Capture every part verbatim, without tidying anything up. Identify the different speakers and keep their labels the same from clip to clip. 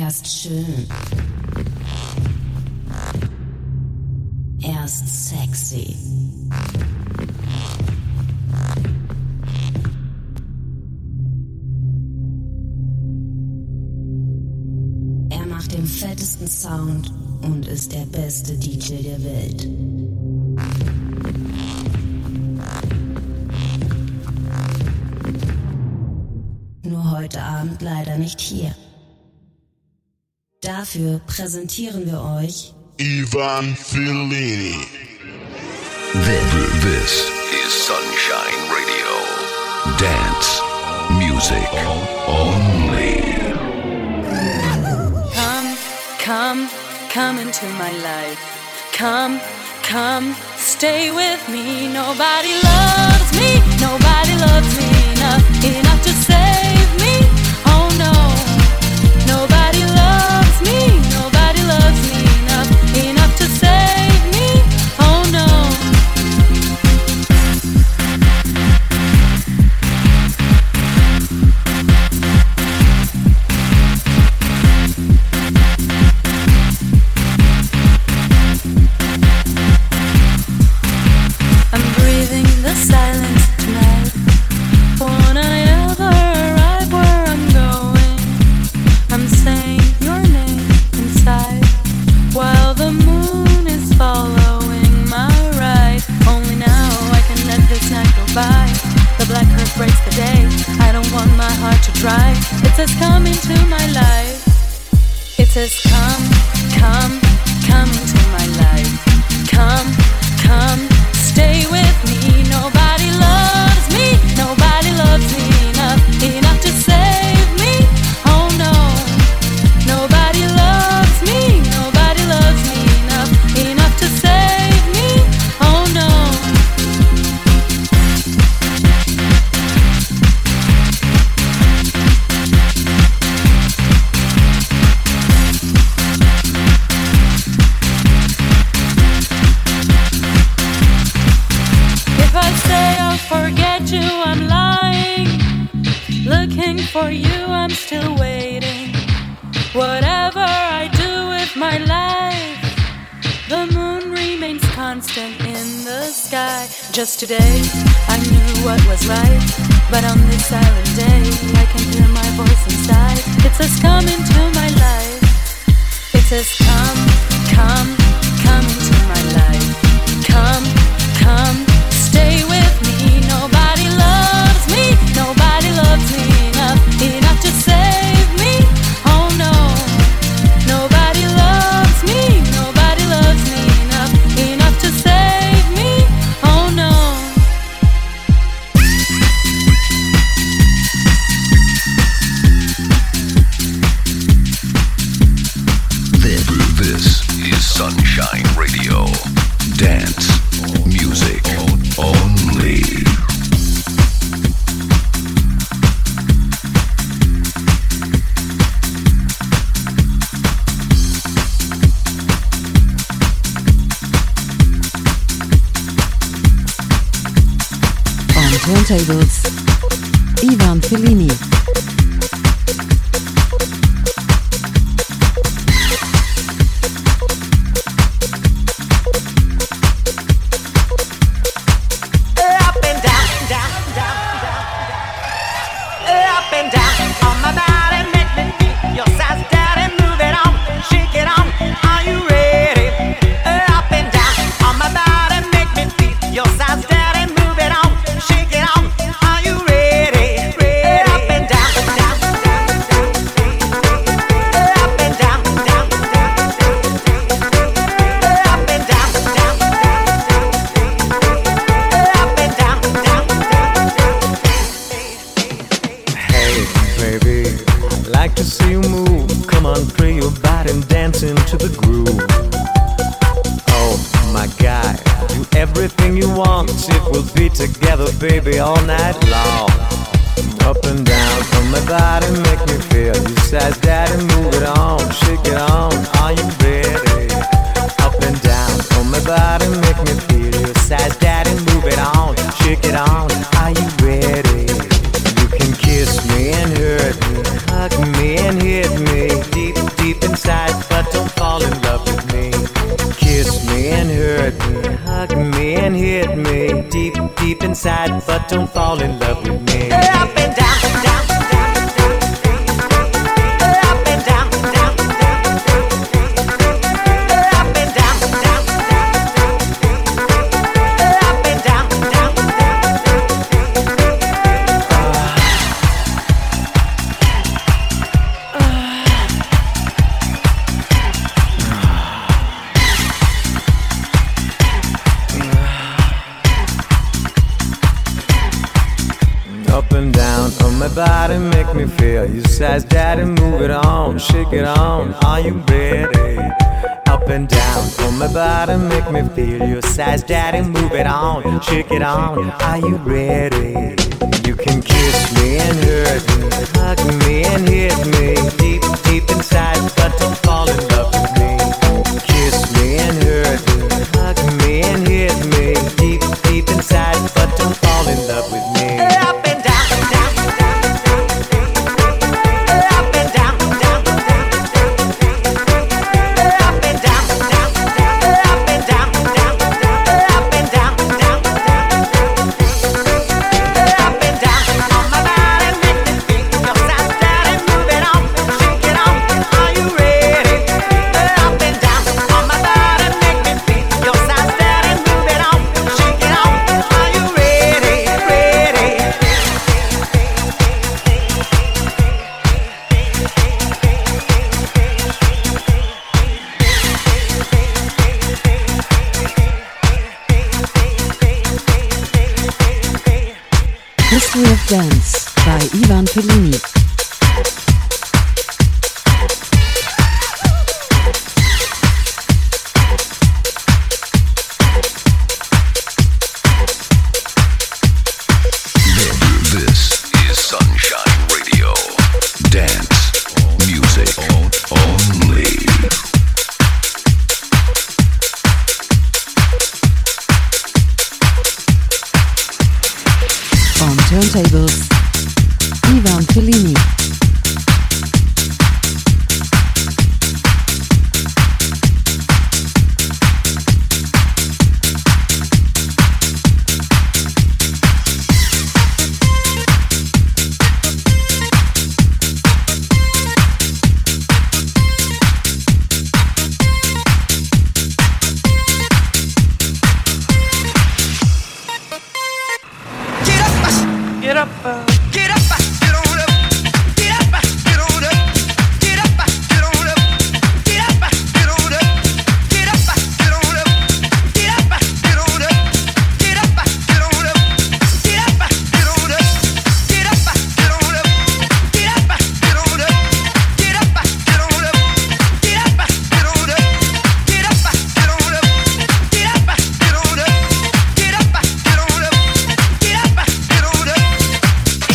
Speaker 1: ist schön. Er ist sexy. Er macht den fettesten Sound und ist der beste D J der Welt. Nur heute Abend leider nicht hier. Dafür präsentieren wir euch
Speaker 2: Ivan Fellini.
Speaker 3: This is Sunshine Radio. Dance music only.
Speaker 4: Come, come, come into my life. Come, come, stay with me. Nobody loves me, nobody loves me enough, enough to save me. Oh no, nobody loves me, nobody loves me enough, enough to save me. Oh no. I'm breathing the silence tonight. Won't I ever arrive where I'm going? I'm saying your name inside while the moon is following my ride. Only now I can let this night go by. The black earth breaks the day. I don't want my heart to dry. It says come into my life. It says come, come, come into my life. Come, come, stay with me. Nobody loves me, nobody loves me enough, enough to save me. Oh no, nobody loves me, nobody loves me enough, enough to save me. Oh no. If I say I'll forget you, I'm lying. Looking for you, I'm still waiting. Whatever I do with my life, the moon remains constant in the sky. Just today, I knew what was right, but on this silent day, I can hear my voice inside. It says come into my life. It says come, come, come into my life. Come, come, stay with me. Nobody loves me, nobody loves me enough, enough to save me. Oh no, nobody loves me, nobody loves me enough, enough to save me. Oh no.
Speaker 3: This, this is Sunshine Radio. Dance music only.
Speaker 5: On turntables, Ivan Fellini.
Speaker 6: Up and down, down, down, down, up and down on my body, make me feel your size, daddy, move it on, shake it on. Are you ready? Up and down on my body, make me feel your size, daddy, move it on, shake it on. Are you ready? Up and down, down, down, up and down, down, up and down, down, up and down, down.
Speaker 7: Hey, baby, I'd like to see you move. Come on, play your body and dance into the groove. Oh, my guy, do everything you want. If we'll be together, baby, all night long. Up and down on my body, make me feel you size, daddy, move it on, shake it on. Are you ready? Up and down on my body, make me feel you size, daddy, move it on, shake it on. Are you ready? You can kiss me and hurt me, hug me and hit me deep and hit me deep, deep inside, but don't fall in love with me.
Speaker 6: Up and down, down, down, down. Up and down, down, down, down. Up and down, down, down, down. Up and down, down, down, down.
Speaker 7: Up and down on my body, make me feel. You size, daddy, move it on, shake it on. Are you ready? Up and down on my body, make me feel. You size, daddy, move it on, shake it on. Are you ready? You can kiss me and hurt me, hug me and hit me deep, deep inside, but don't fall in love with me. Kiss me and hurt me, hug me and hit me deep, deep inside, but don't fall in love with me.
Speaker 6: Up and down, down, down, down. Up and down, down, down, down. Up and down, down, down. Up and down, down, down. Up and down, down, down, down. Up and down on my body, make me feel your size, daddy, move it on, shake it on. Are you ready? Up and down on my body, make me feel your size, daddy, move it on, shake it on. Are you ready? Ready?
Speaker 5: History of Dance by Ivan Fellini.
Speaker 3: This is Sunshine Radio. Dance music only.
Speaker 5: On turntables, Ivan Fellini.
Speaker 6: Get up, uh, get up, uh, get on up. Get up, uh, get on up. Get up, uh, get on up. Get up, uh, get on up. Get up, uh, get on up. Get up, uh, get on up. Get up, uh, get on up. Get up, uh, get on up. Get up, uh, get on up. Get up, uh, get on up. Get up, uh, get on up. Get up, uh, get on up. Get up, uh, get on up. Get up, uh, get on up. Get up, uh, get on up. Get up, uh, get on up.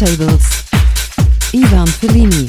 Speaker 5: turntables, Ivan Fellini.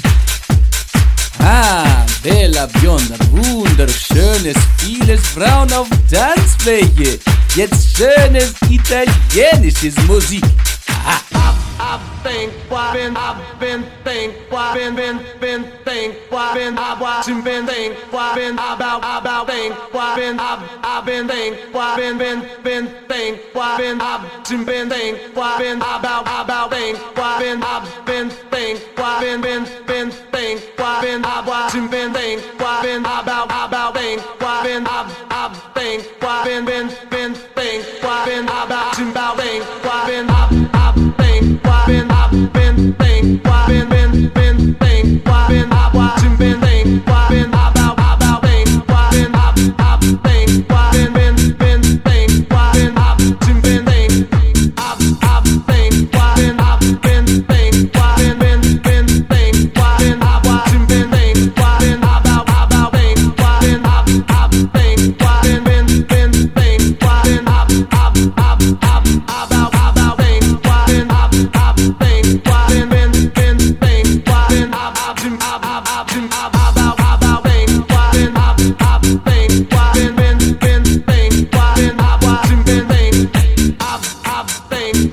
Speaker 8: Ah, bella bionda, wunderschönes, vieles Frauen auf Tanzfläche. Jetzt schönes italienisches Musik. Aha.
Speaker 6: I've been, been, I've been, think, been, been, been, think, been, I've watching, been, think, been, about, about, think, been, I've, I've been, think, been, been, been, think, been, I've watching, been, think, been, about, about, think, been, I've been, think, been, been, been, think, been, I've watching, been, think, been, about, about, think, been, I've, I've think, been, been, been, think, been, about, about, think, been, I've, I've think. Been up, been thing, been been been thing, been up, watching, been thing, been about about thing, been up up thing, been been been thing, been up, been thing, up up thing, been up been thing, been been been thing, been up, watching, been thing, been about about thing, been up up thing, been been been thing, been up up up up about about thing, been up up thing, been been been thing, been up up up up up up about about thing, been up up thing, been been been thing, been up watching, been thing, up up thing,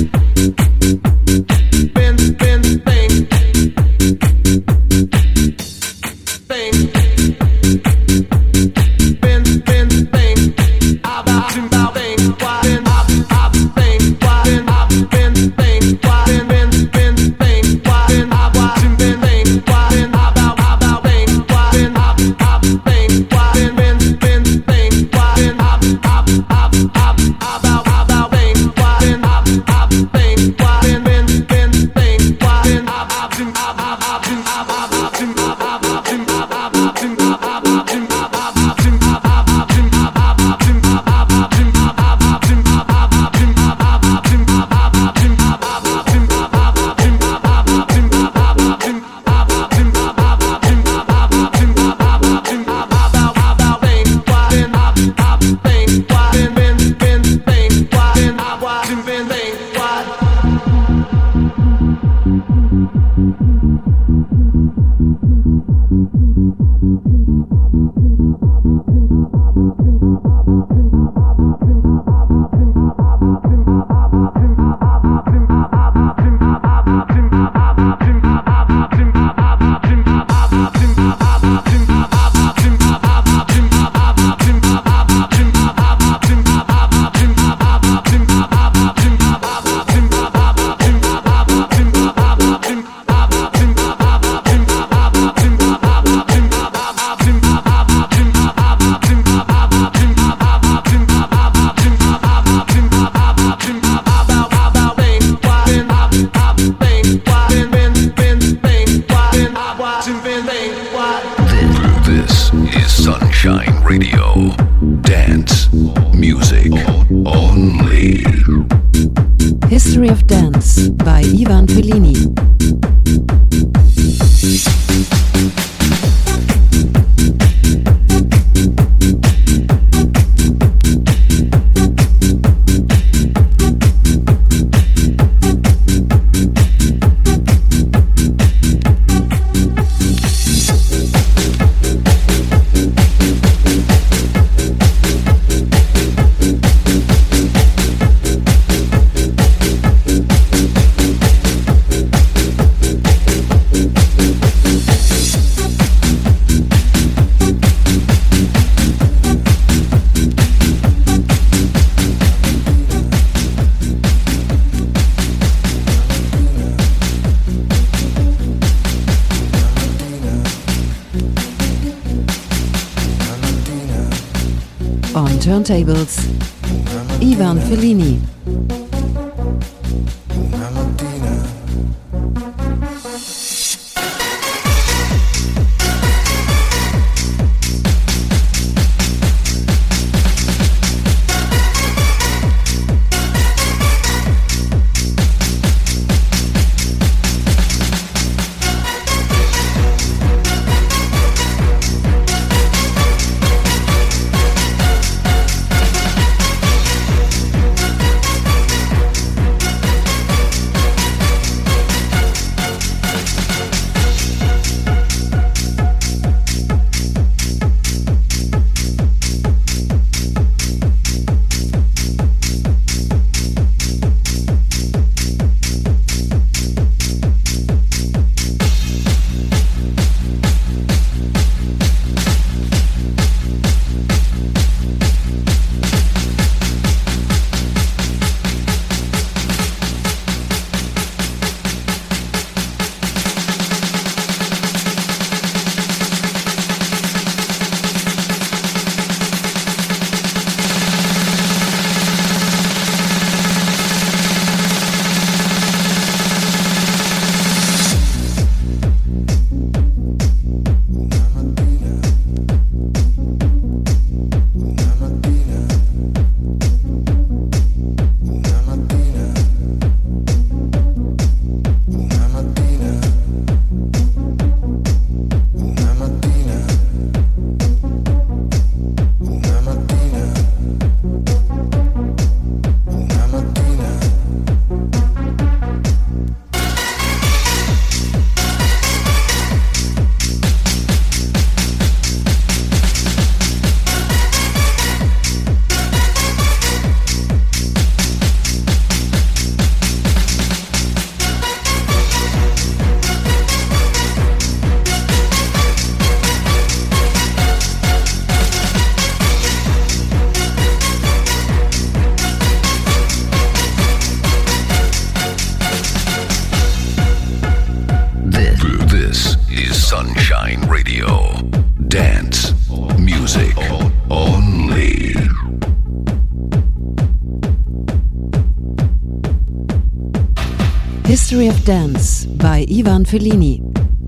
Speaker 6: been been thing, thing, been been thing, about about thing, been up up thing, been up been thing, been been been thing, been up watching, been thing, been about about thing, been up up thing, been been been thing, been up up up up about about thing, been up up thing, been been been thing, been up up up up up up up up
Speaker 3: This is Sunshine Radio. Dance music only.
Speaker 5: History of Dance by Ivan Fellini. On turntables, Ivan Fellini.
Speaker 3: Sunshine Radio. Dance music only.
Speaker 5: History of Dance by Ivan Fellini.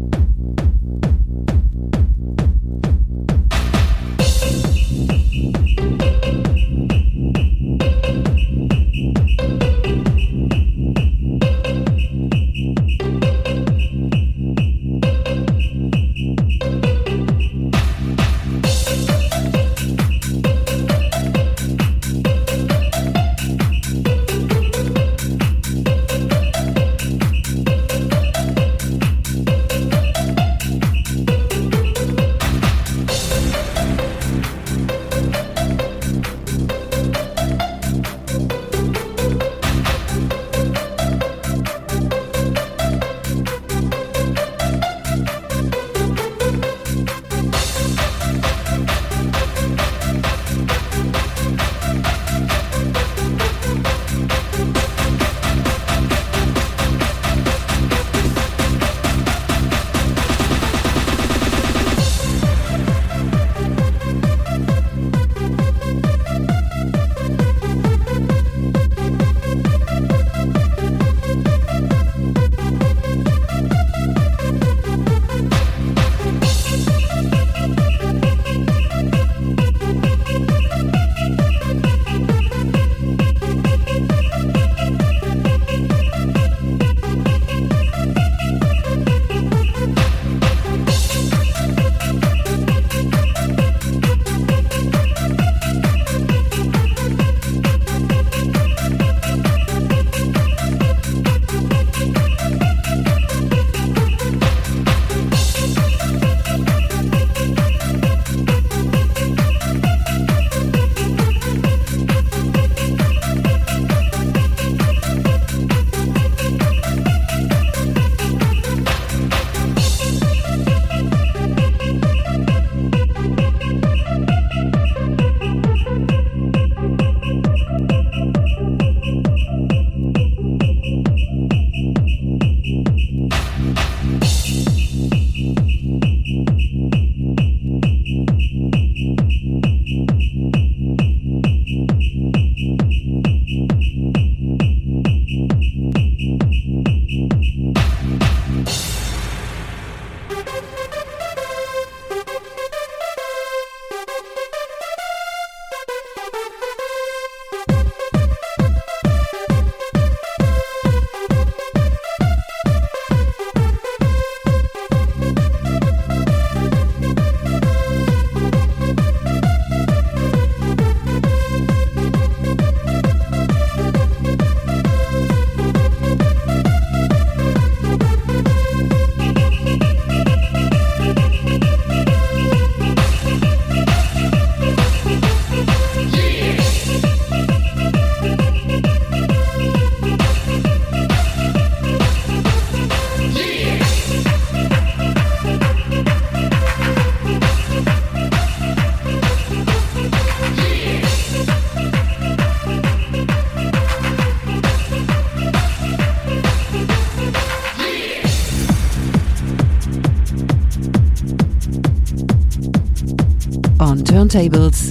Speaker 5: On turntables,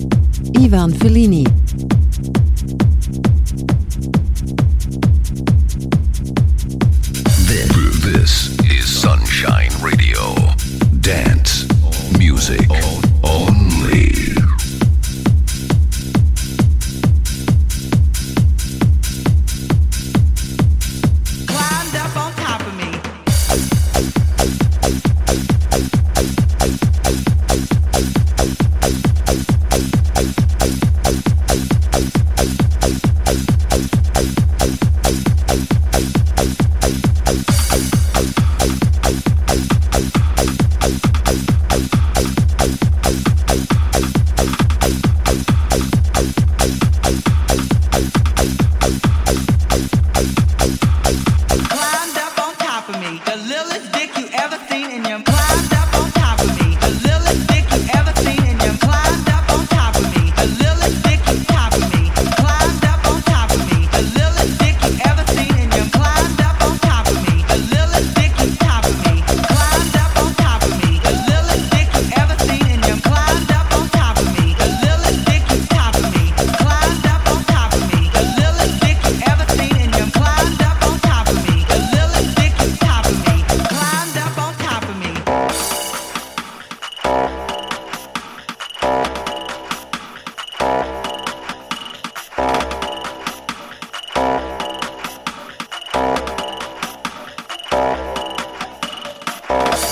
Speaker 5: Ivan Fellini.
Speaker 3: This, this is Sunshine Radio. Dance music only.
Speaker 6: Climbed up on top of me. Climbed up on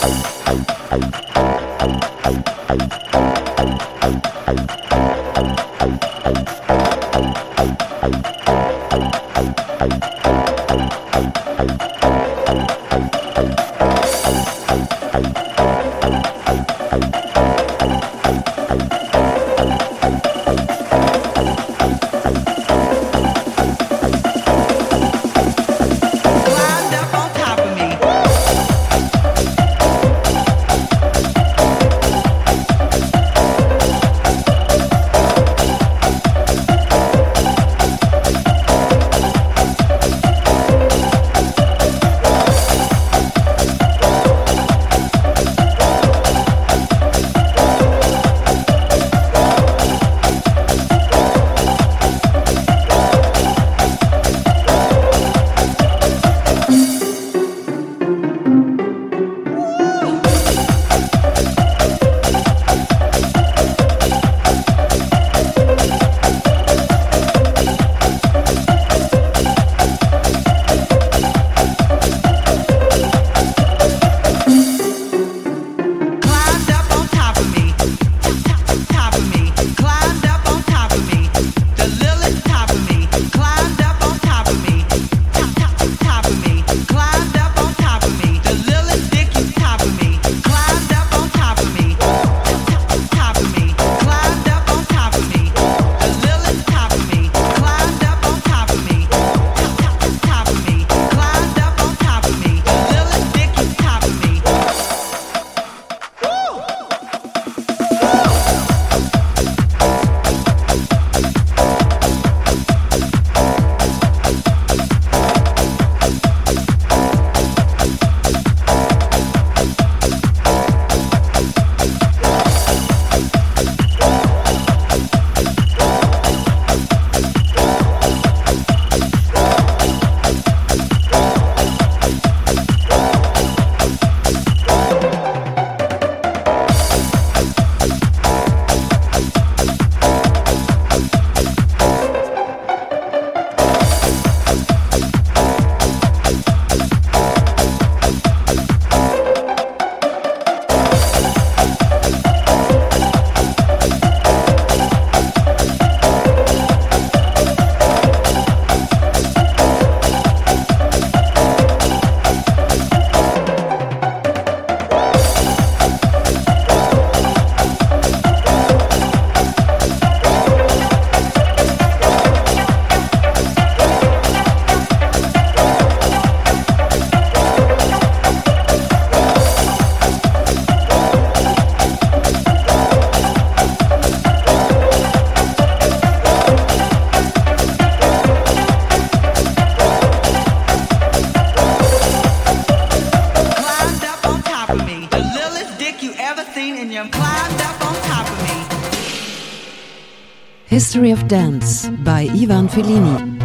Speaker 5: History of Dance by Ivan Fellini.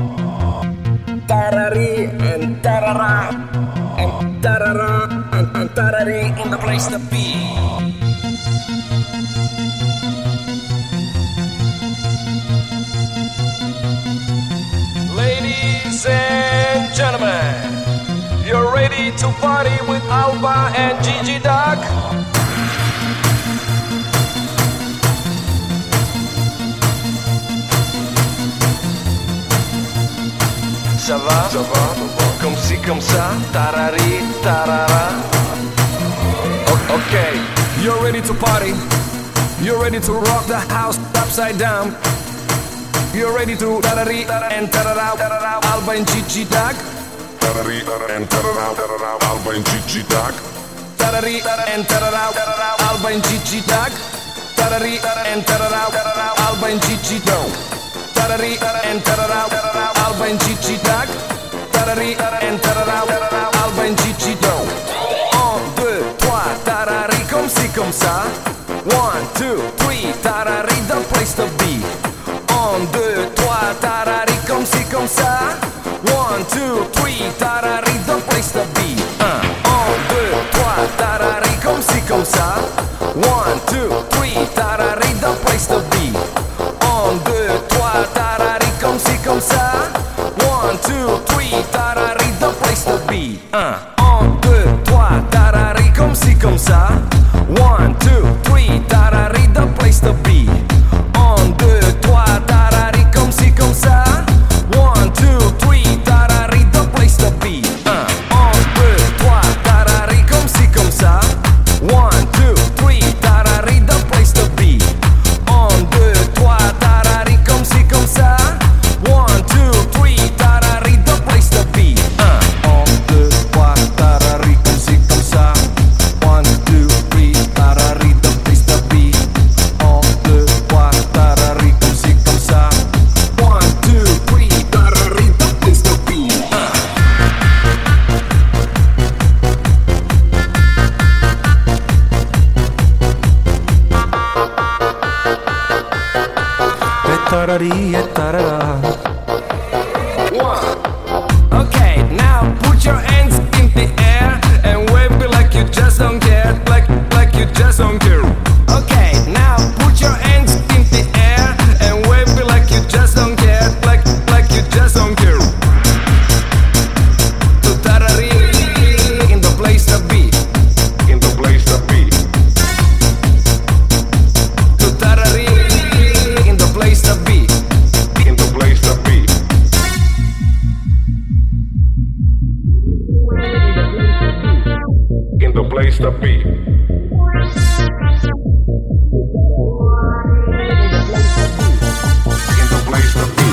Speaker 9: Tarari and tarara and tarara and, and tarari in the place to be.
Speaker 10: Ladies and gentlemen, you're ready to party with Alba and Gigi Duck? Ça va? Ça va? Comme si, comme ça, tarari, tarara. O- okay, you're ready to party. You're ready to rock the house upside down. You're ready to tarari and tarara, Alba and Gigi Duck.
Speaker 2: Tarari and tarara, Alba and Gigi Duck.
Speaker 10: Tarari and tarara, Alba and Gigi Duck. Tarari and tarara, Alba and Gigi Duck. Tarari and tarara, Alba and Gigi Duck. Tarari and tarara, Alba and Gigi Duck. Un, deux, trois, tarari comme ci comme ça. One, two, three, tarari the place to be. Un, deux, trois, tarari comme ci comme ça. One, two, three, tarari the place to be. Un, un, deux, trois, tarari comme ci comme ça. One, two, three, tarari the place to be. Un, deux, trois, tarari comme ci comme ça. One, two, three, tarari the place to be. Un, un, deux, trois, tarari comme ci comme
Speaker 7: tarari e tarara.
Speaker 10: One. Okay, now put your hands in the air and wave it like you just don't care, like like you just don't care. Okay, now put your hands in the air and wave it like you just don't care, like like you just don't care. To tarari in the place to be,
Speaker 2: In the place to be.
Speaker 10: to tarari in the place to be.
Speaker 2: In the place to be. In the place to be. In the place to be.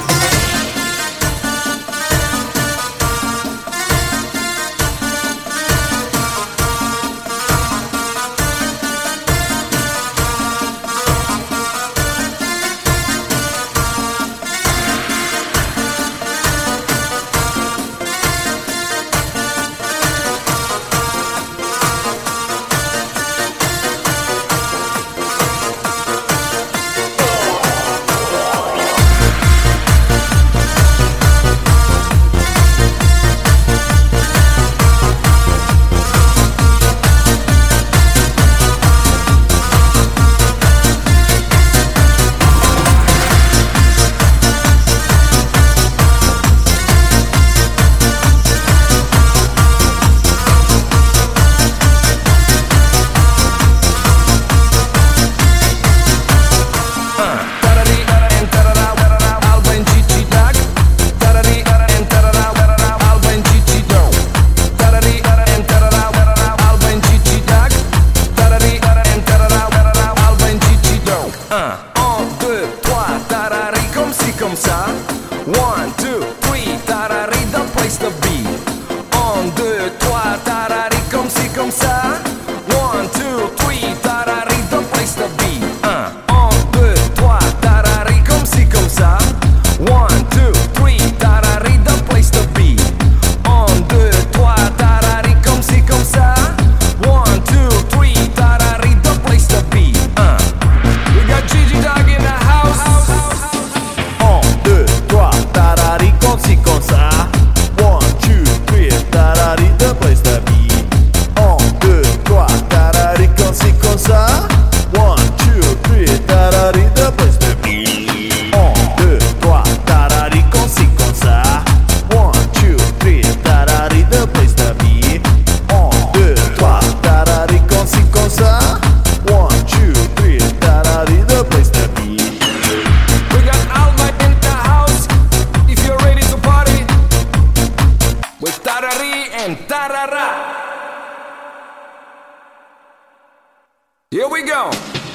Speaker 10: One, two, three, tarari, the place to be. Un, deux, trois, tarari, comme si, comme ça. One, two, three, tarari, the place to be. Un, un, deux, trois, tarari, comme si, comme ça. One, two, three, tarari, the place to be. Un, deux, trois, tarari, comme si, comme ça. One, two, three, tarari, the place to be. Un. We got Gigi Dog in the house.
Speaker 7: Tarari con si con sa. One, two, three, tarari, the place to be. Un, deux, trois, tarari con si con sa. One, two, three, tarari, the place to be. Un, deux, trois, tarari con si con sa. One, two, three, tarari, the place to be. Un, deux, trois, tarari con si con sa. One, two, three, tarari, the place to be.
Speaker 10: We got Alba in the house. If you're ready to party with tarari and tarara. Here we go.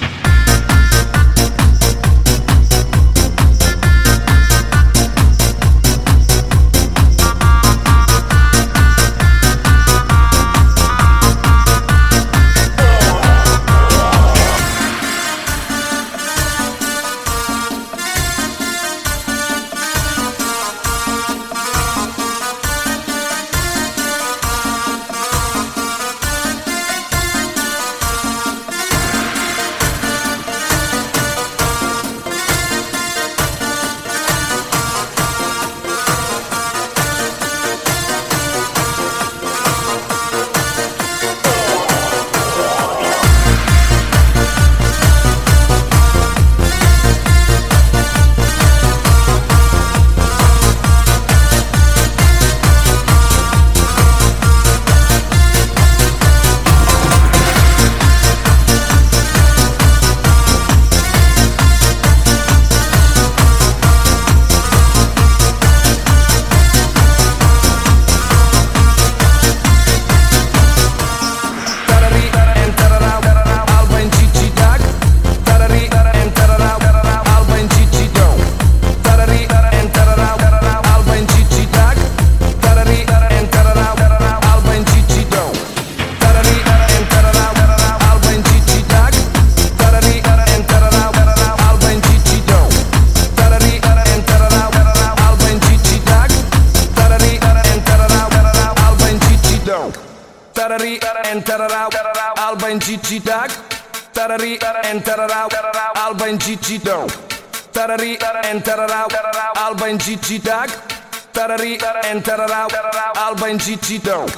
Speaker 10: Tarari and tarara, Alba and Gigi Dog. Tarari and tarara, Alba and Gigi Dog. tarari and tararau, Alba in Gigi Dag, tarari and tararau, Alba in Gigi Dog.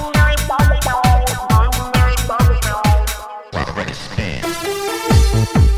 Speaker 3: Ready, stand.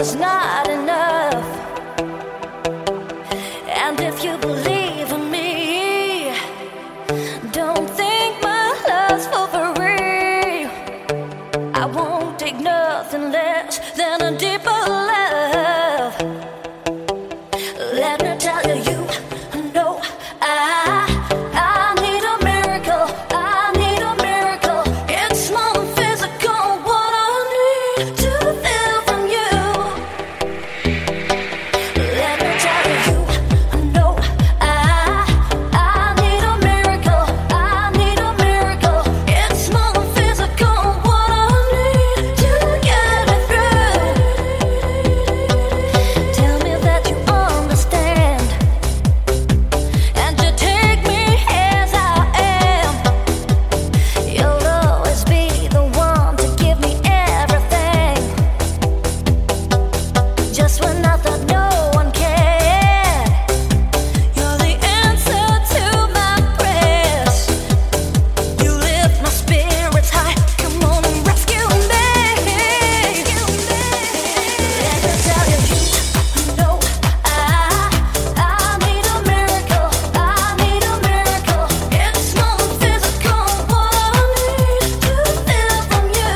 Speaker 11: is not enough. And if you believe in me, don't think my love's for free. I won't take nothing less than a deeper love. Let me tell you, you know I, I need a miracle. I need a miracle. It's more than physical. What I need to feel from you. Let me tell you, you know I, I need a miracle. I need a miracle. It's more than physical. What I need to get it through. Tell me that you understand, and you take me as I am. You'll always be the one to give me everything, just when I thought no one cared. You're the answer to my prayers. You lift my spirits high. Come on and rescue me. Let me tell you, you know I, I need a miracle. I need a miracle. It's more than physical. What I need to feel from you.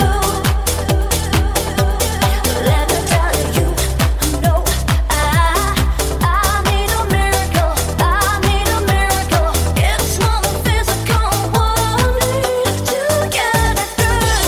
Speaker 11: Let me tell you, you know I, I need a miracle. I need a miracle. It's more than physical. What I need to get it through.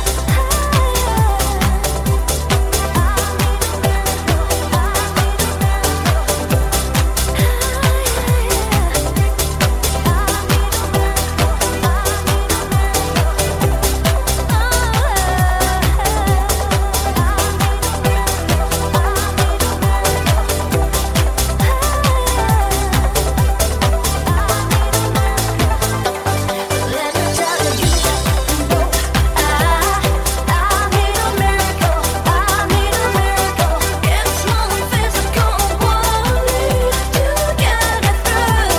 Speaker 11: Let me tell you, you know I, I need a miracle. I need a miracle. It's more than physical. What I need to get it through.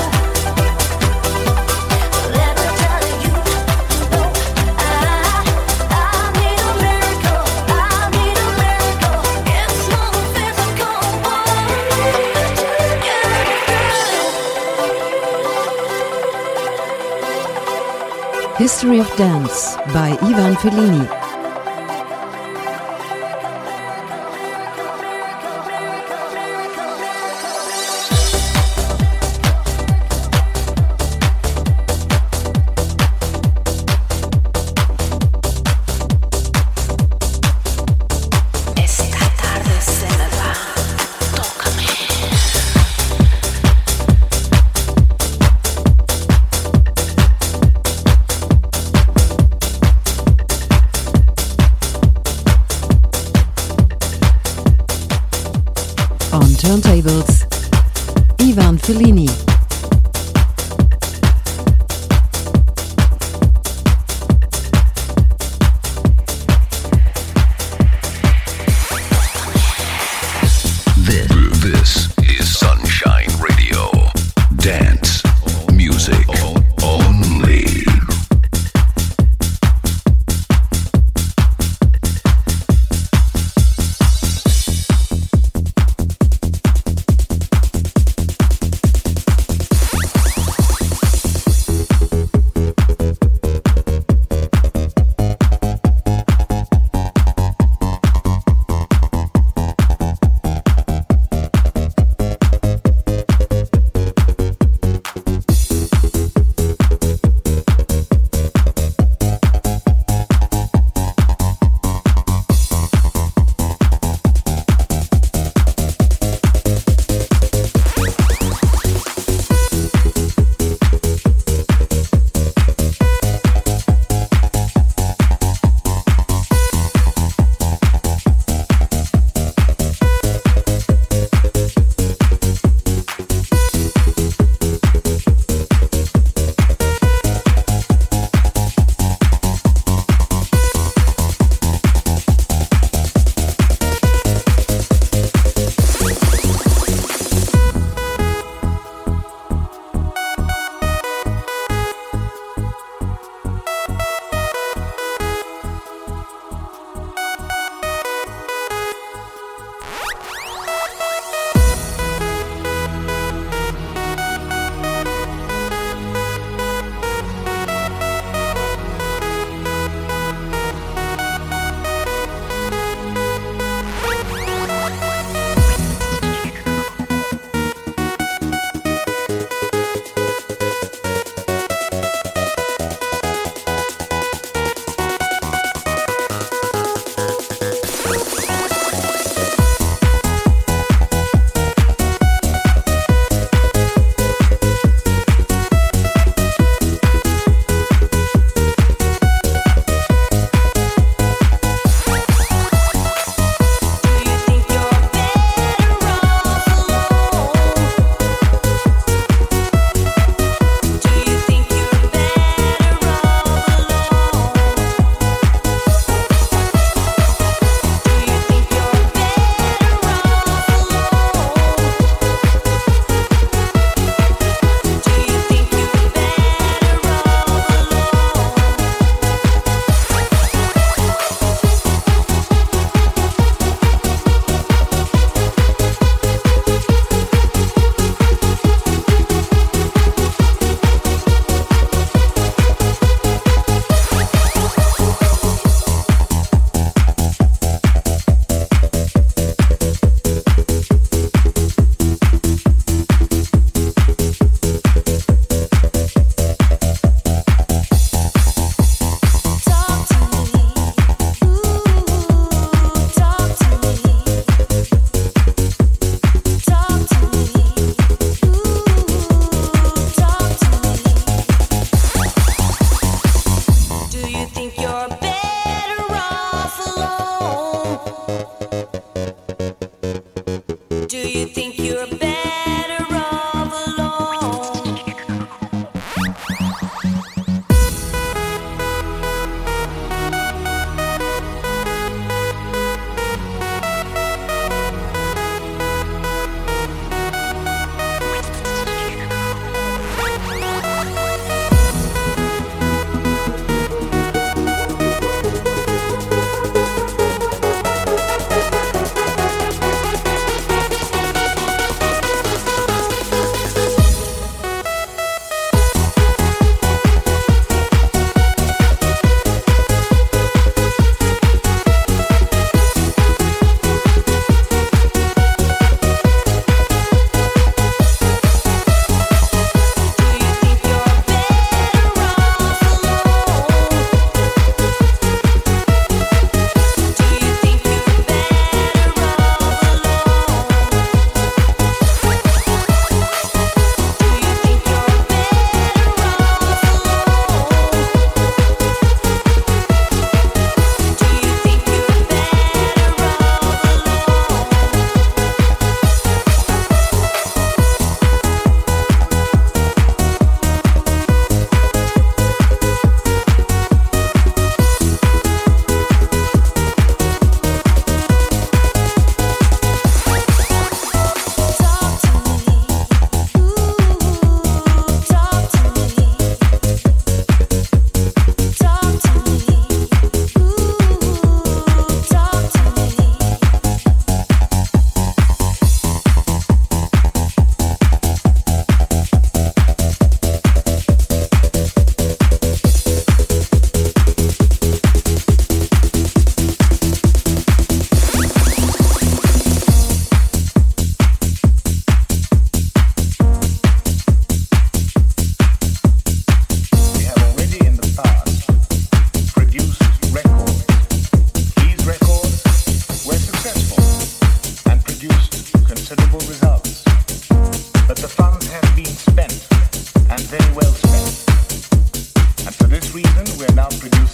Speaker 11: Let me tell you, you know I, I need a miracle. I need a miracle. It's more than physical. What I need to get it through.
Speaker 5: History of Dance by Ivan Fellini.
Speaker 11: Esta tarde se me va. Tócame.
Speaker 5: On turntables, Ivan Fellini.
Speaker 3: This, this is Sunshine Radio. Dance music only.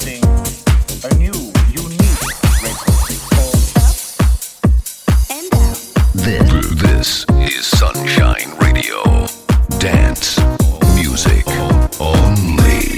Speaker 12: introducing a new, unique record called Up and Down.
Speaker 3: This, this is Sunshine Radio. Dance music only.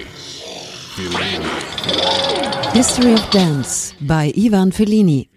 Speaker 5: History of Dance by Ivan Fellini.